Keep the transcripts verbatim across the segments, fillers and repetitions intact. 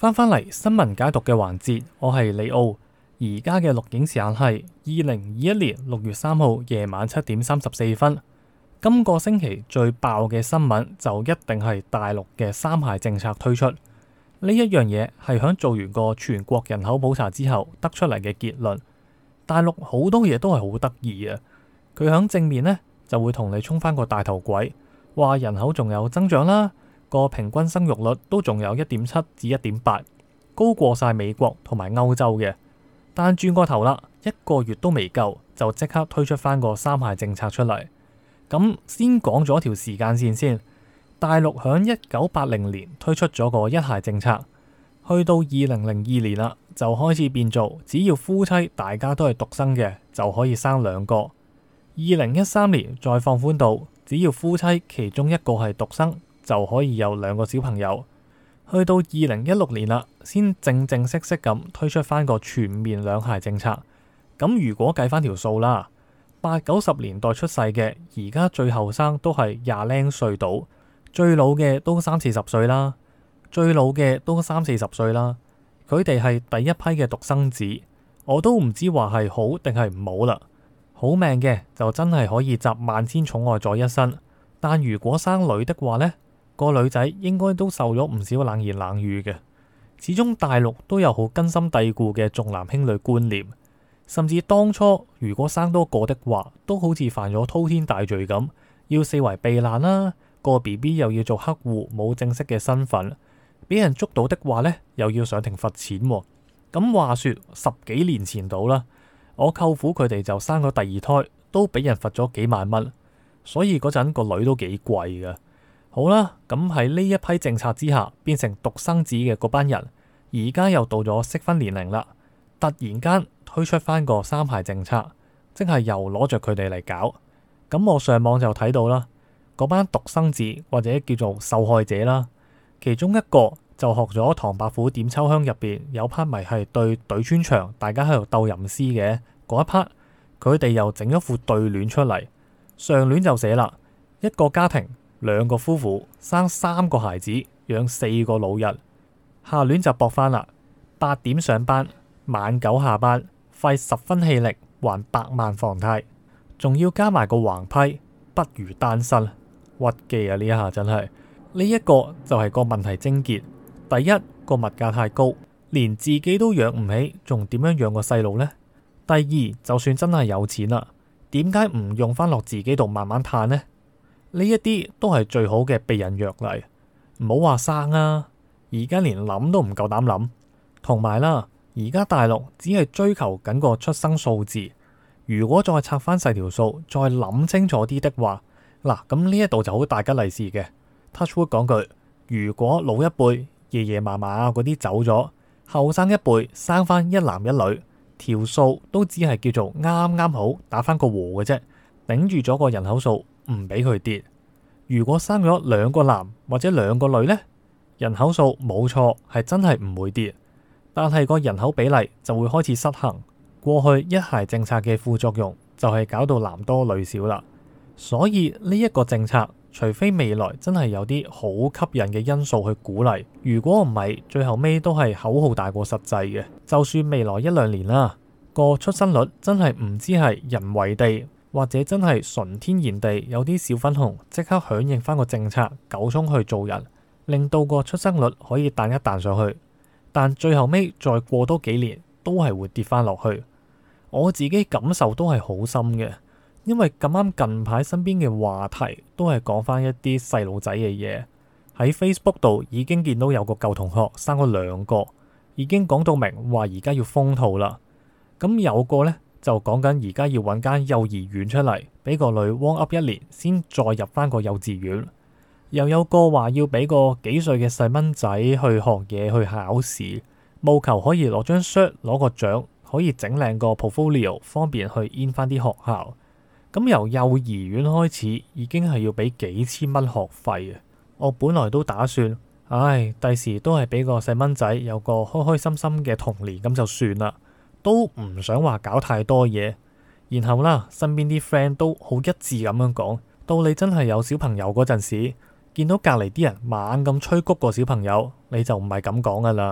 翻返嚟新聞解讀嘅環節，我係李奧。而家嘅錄影時間係二零二一年六月三號夜晚七點三十四分。今個星期最爆嘅新聞就一定係大陸嘅三孩政策推出。呢一樣嘢係響做完個全國人口普查之後得出嚟嘅結論。大陸好多嘢都係好得意啊！佢響正面呢，就會同你衝翻個大頭鬼，話人口仲有增長啦，個平均生育率都仲有一點七至一點八，高過晒美國同埋歐洲嘅。但轉個頭啦，一個月都未夠，就即刻推出翻個三孩政策出嚟。咁先講咗條時間線先。大陸響一九八零年推出咗個一孩政策，去到二零零二年啦，就開始變做只要夫妻大家都係獨生嘅，就可以生兩個。二零一三年再放寬到只要夫妻其中一個係獨生，就可以有兩個小朋友。去到二零一六年啦，先正正式式咁推出翻個全面兩孩政策。咁如果計翻條數啦，八九十年代出世嘅，而家最後生都係廿零歲到，最老嘅都三四十歲啦，最老嘅都三四十歲啦。佢哋係第一批嘅獨生子，我都唔知話係好定係唔好啦。好命嘅就真係可以集萬千寵愛在一身，但如果生女的話呢，個女仔應該都受咗唔少冷言冷語嘅。始終大陸都有好根深蒂固嘅重男輕女觀念，甚至當初如果生多個的話，都好似犯咗滔天大罪咁，要四圍避難啦。個 B B 又要做黑戶，冇正式嘅身份，俾人捉到的話呢，又要上庭罰錢喎。咁話說十幾年前到啦，我舅父佢哋就生咗第二胎，都俾人罰咗幾萬蚊，所以嗰陣個女都幾貴㗎。好啦，咁喺呢一批政策之下，變成獨生子嘅嗰班人，而家又到咗適婚年齡啦，突然間推出翻個三孩政策，即係又攞着佢哋嚟搞。咁我上網就睇到啦，嗰班獨生子或者叫做受害者啦，其中一個就學咗唐伯虎點秋香入邊有 part 咪係對對穿牆，大家喺度鬥吟詩嘅嗰一 part，佢哋又整咗副對聯出嚟。上聯就寫啦，一個家庭兩個夫婦生三個孩子，養四個老人。下聯就駁翻啦，八點上班，晚九下班，費十分氣力還百萬房貸，仲要加埋個橫批，不如單身。屈機啊！呢一下真係呢一個就係個問題症結。第一，個物價太高，連自己都養唔起，仲點樣養個細路呢？第二，就算真係有錢啦，點解唔用翻落自己度慢慢嘆呢？呢一啲都係最好嘅避孕藥嚟，唔好話生啊！而家連諗都唔夠膽諗。同埋啦，而家大陸只係追求緊個出生數字，如果再拆翻細條數，再諗清楚啲的話，嗱，咁呢一度就好大吉利是嘅。Touchwood 講句，如果老一輩爺爺嫲嫲啊嗰啲走咗，後生一輩生翻一男一女，條數都只係叫做啱啱好打翻個和嘅啫，頂住咗個人口數，唔俾佢跌。如果生咗兩個男或者兩個女呢，人口數冇錯係真係唔會跌，但係個人口比例就會開始失衡。過去一孩政策嘅副作用就係搞到男多女少啦。所以呢一個政策，除非未來真係有啲好吸引嘅因素去鼓勵，如果唔係，最後尾都係口號大過實際嘅。就算未來一兩年啦，個出生率真係唔知係人為地，或者真係純天然地有啲小粉紅即刻響應翻個政策，狗衝去做人，令到個出生率可以彈一彈上去。但最後尾再過多幾年，都係會跌翻落去。我自己感受都係好深嘅。因為咁啱近排身邊嘅話題都係講翻一啲細路仔嘅嘢，喺 Facebook 度已經見到有個舊同學生咗兩個，已經講到明話而家要封套啦。咁有個呢，就講緊而家要揾間幼兒園出嚟，俾個女 warm up 一年先再入翻個幼稚園。又有個話要俾個幾歲嘅細蚊仔去學嘢去考試，務求可以攞張 cert 攞個獎，可以整靚個 portfolio， 方便去 in 翻啲學校。咁由幼兒園開始已經係要俾幾千蚊學費啊！我本來都打算，唉，第時都係俾個細蚊仔有個開開心心嘅童年咁就算啦，都唔想話搞太多嘢。然後啦，身邊啲 friend 都好一致咁樣講，到你真係有小朋友嗰陣時，見到隔籬啲人猛咁催谷個小朋友，你就唔係咁講噶啦。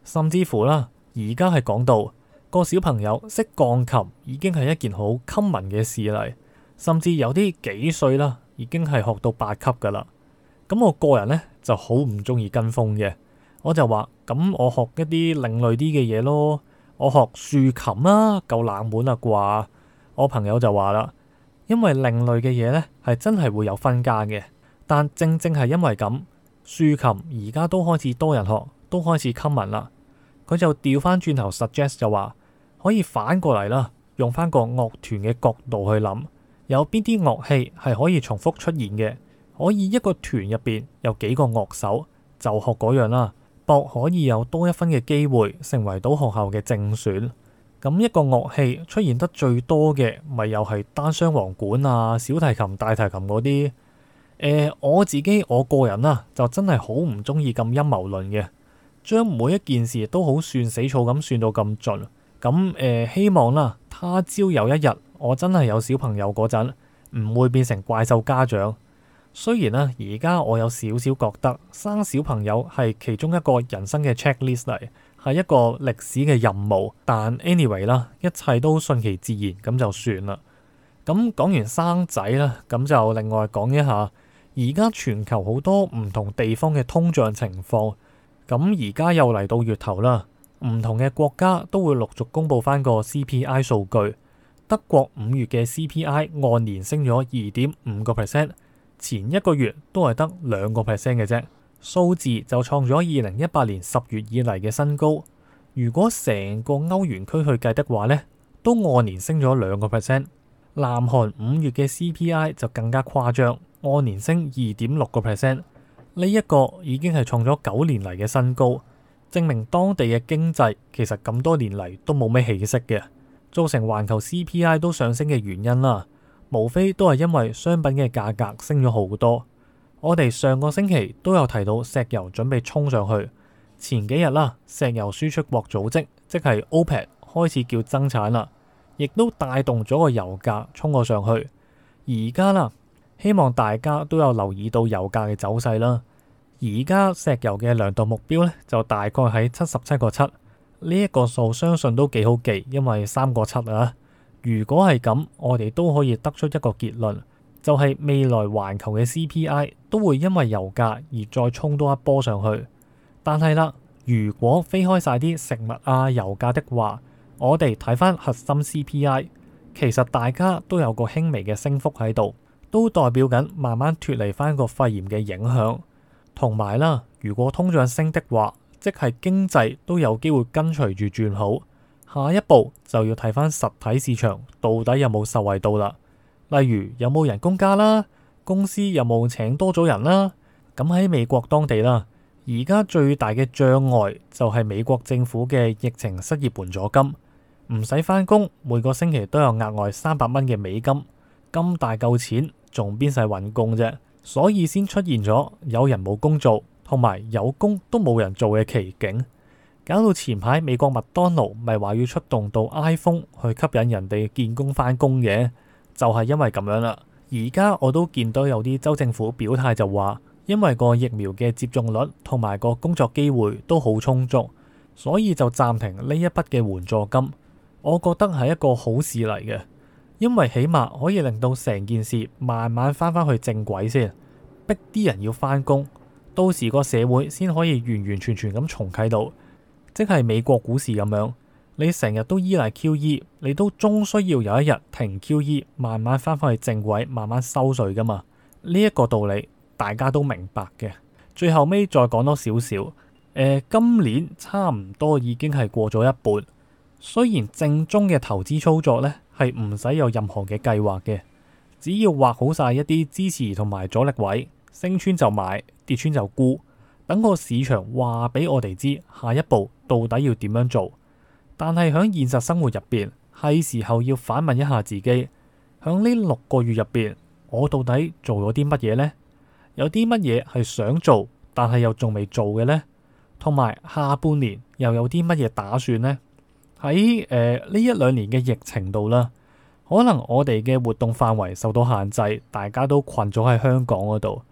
甚至乎啦，而家係講到個小朋友識鋼琴已經係一件好 common 嘅事嚟，甚至有啲幾歲啦，已經係學到八級噶啦。咁我個人呢就好唔中意跟風嘅，我就話咁我學一啲另類啲嘅嘢咯，我學豎琴啦，夠冷門啦啩。我朋友就話啦，因為另類嘅嘢呢係真係會有分家嘅，但正正係因為咁，豎琴而家都開始多人學，都開始 common 啦。佢就調翻轉頭 suggest 就話可以反過嚟啦，用翻個樂團嘅角度去諗，有邊啲樂器係可以重複出現嘅，可以一個團入邊有幾個樂手就學嗰樣啦，博可以有多一分嘅機會成為到學校嘅正選。咁一個樂器出現得最多嘅咪又係單雙簧管啊、小提琴、大提琴嗰啲。誒、呃，我自己我個人啊就真係好唔中意咁陰謀論嘅，將每一件事都好算死草咁算到咁盡。咁誒、呃，希望啦，他朝有一日我真係有小朋友嗰陣，唔會變成怪獸家長。雖然啦，而家我有少少覺得生小朋友係其中一個人生嘅 checklist 嚟，係一個歷史嘅任務。但 anyway 啦，一切都順其自然咁就算啦。咁講完生仔啦，咁就另外講一下而家全球好多唔同地方嘅通脹情況。咁而家又嚟到月頭啦，唔同嘅國家都會陸續公布翻個 C P I 數據。德國五月嘅 C P I 按年升咗二點五個 percent。前一個月都係得兩個 percent 嘅啫，數字就創咗二零一八年十月以嚟嘅新高。如果成個歐元區去計的話呢，都按年升咗兩個 percent。南韓五月嘅 C P I 就更加誇張，按年升二點六個 percent。呢一個已經係創咗九年嚟嘅新高，證明當地嘅經濟其實咁多年嚟都冇咩起色嘅，造成環球 C P I 都上升嘅原因啦。無非都係因為商品嘅價格升咗好多。我哋上個星期都有提到石油準備衝上去，前幾日啦，石油輸出國組織即係 OPEC 開始叫增產啦，亦都帶動咗個油價衝咗上去。而家啦，希望大家都有留意到油價嘅走勢啦。而家石油嘅量度目標咧就大概喺七十七個七，呢一個數相信都幾好記，因為三個七啊。如果係咁，我哋都可以得出一個結論，就係未來環球嘅 C P I 都會因為油價而再衝多一波上去。但係啦，如果飛開晒啲食物啊、油價的話，我哋睇翻核心 C P I， 其實大家都有個輕微嘅升幅喺度，都代表緊慢慢脫離翻個肺炎嘅影響。同埋啦，如果通脹升的話，即係經濟都有機會跟隨住轉好。下一步就要睇翻實體市場到底有冇受惠到啦，例如有冇人工加啦，公司有冇請多咗人啦。咁喺美國當地啦，而家最大嘅障礙就係美國政府嘅疫情失業援助金，唔使返工，每個星期都有額外三百蚊嘅美金，咁大嚿錢仲邊使揾工啫？所以先出現咗有人冇工做，同埋有工都冇人做嘅奇景。搞到前排美國麥當勞咪話要出動到 iPhone 去吸引人哋見工返工嘅，就係因為咁樣啦。而家我都見到有啲州政府表態就話，因為個疫苗嘅接種率同埋個工作機會都好充足，所以就暫停呢一筆嘅援助金。我覺得係一個好事嚟嘅，因為起碼可以令到成件事慢慢翻返去正軌先，逼啲人要返工，到時個社會先可以完完全全咁重啟到。即係美國股市咁樣，你成日都依賴 Q E， 你都終需要有一日停 Q E， 慢慢翻返去正軌，慢慢收稅噶嘛。呢、這、一個道理大家都明白嘅。最後尾再講多少少，誒，今年差唔多已經係過咗一半。雖然正宗嘅投資操作呢係唔使有任何嘅計劃嘅，只要畫好晒一啲支持同埋阻力位，升穿就買，跌穿就沽。等個市場話俾我哋知下一步到底要點樣做，但係喺現實生活入邊係時候要反問一下自己，喺呢六個月入邊我到底做咗啲乜嘢呢？有啲乜嘢係想做但係又仲未做嘅呢？同埋下半年又有啲乜嘢打算呢？喺誒呢一兩年嘅疫情度啦，可能我哋嘅活動範圍受到限制，大家都困咗喺香港嗰度。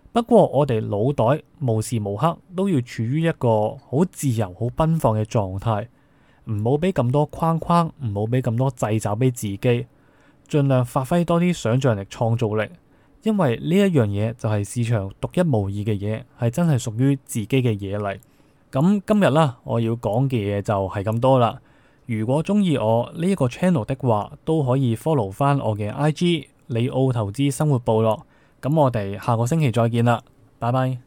不過我哋腦袋無時無刻都要處於一個好自由、好奔放嘅狀態，唔好俾咁多框框，唔好俾咁多掣肘俾自己，盡量發揮多啲想象力、創造力，因為呢一樣嘢就係市場獨一無二嘅嘢，係真係屬於自己嘅嘢嚟。咁今日啦，我要講嘅嘢就係咁多啦。如果中意我呢一個 channel 的話，都可以 follow 翻我嘅 I G 李奧投資生活部落。咁我哋下個星期再見啦，拜拜。